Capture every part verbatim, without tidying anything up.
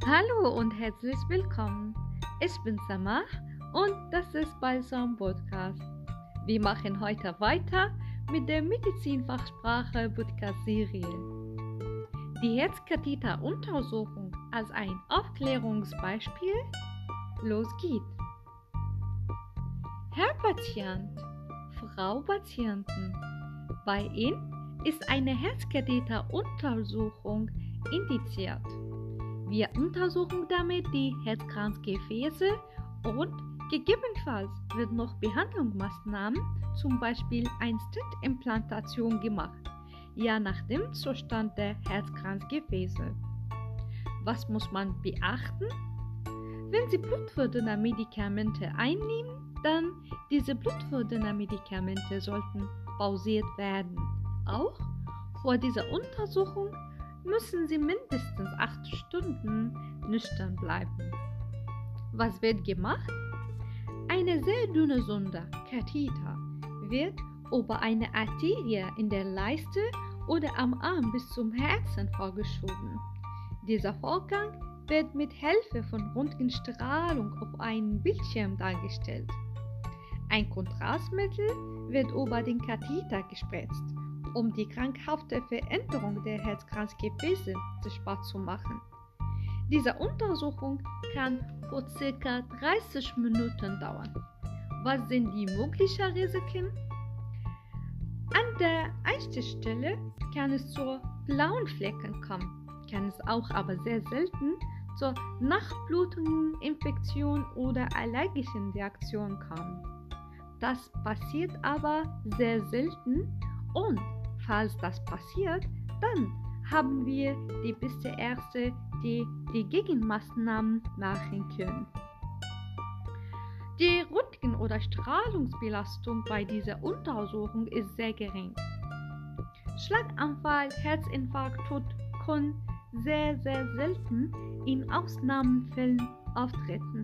Hallo und herzlich willkommen. Ich bin Samah und das ist Balsam Podcast. Wir machen heute weiter mit der Medizinfachsprache Podcast-Serie. Die Herzkatheter-Untersuchung als ein Aufklärungsbeispiel. Los geht's. Herr Patient, Frau Patienten, bei Ihnen ist eine Herzkatheter-Untersuchung indiziert. Wir untersuchen damit die Herzkranzgefäße und gegebenenfalls wird noch Behandlungsmaßnahmen, zum Beispiel eine Stent-Implantation gemacht, je nach dem Zustand der Herzkranzgefäße. Was muss man beachten? Wenn Sie blutfördernde Medikamente einnehmen, dann diese blutfördernden Medikamente sollten pausiert werden. Auch vor dieser Untersuchung müssen Sie mindestens acht Stunden nüchtern bleiben. Was wird gemacht? Eine sehr dünne Sonde, Katheter, wird über eine Arterie in der Leiste oder am Arm bis zum Herzen vorgeschoben. Dieser Vorgang wird mit Hilfe von Röntgenstrahlung auf einem Bildschirm dargestellt. Ein Kontrastmittel wird über den Katheter gespritzt, um die krankhafte Veränderung der Herzkranzgefäße sichtbar zu machen. Diese Untersuchung kann für ca. dreißig Minuten dauern. Was sind die möglichen Risiken? An der Einstichstelle kann es zu blauen Flecken kommen, kann es auch aber sehr selten zur Nachblutung, Infektion oder allergischen Reaktion kommen. Das passiert aber sehr selten und falls das passiert, dann haben wir die beste Ärzte, die die Gegenmaßnahmen machen können. Die Röntgen- oder Strahlungsbelastung bei dieser Untersuchung ist sehr gering. Schlaganfall, Herzinfarkt, Tod können sehr, sehr selten in Ausnahmefällen auftreten.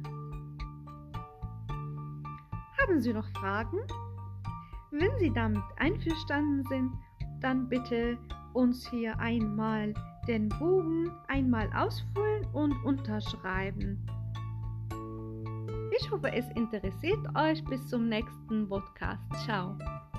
Haben Sie noch Fragen? Wenn Sie damit einverstanden sind, dann bitte uns hier einmal den Bogen einmal ausfüllen und unterschreiben. Ich hoffe, es interessiert euch. Bis zum nächsten Podcast. Ciao.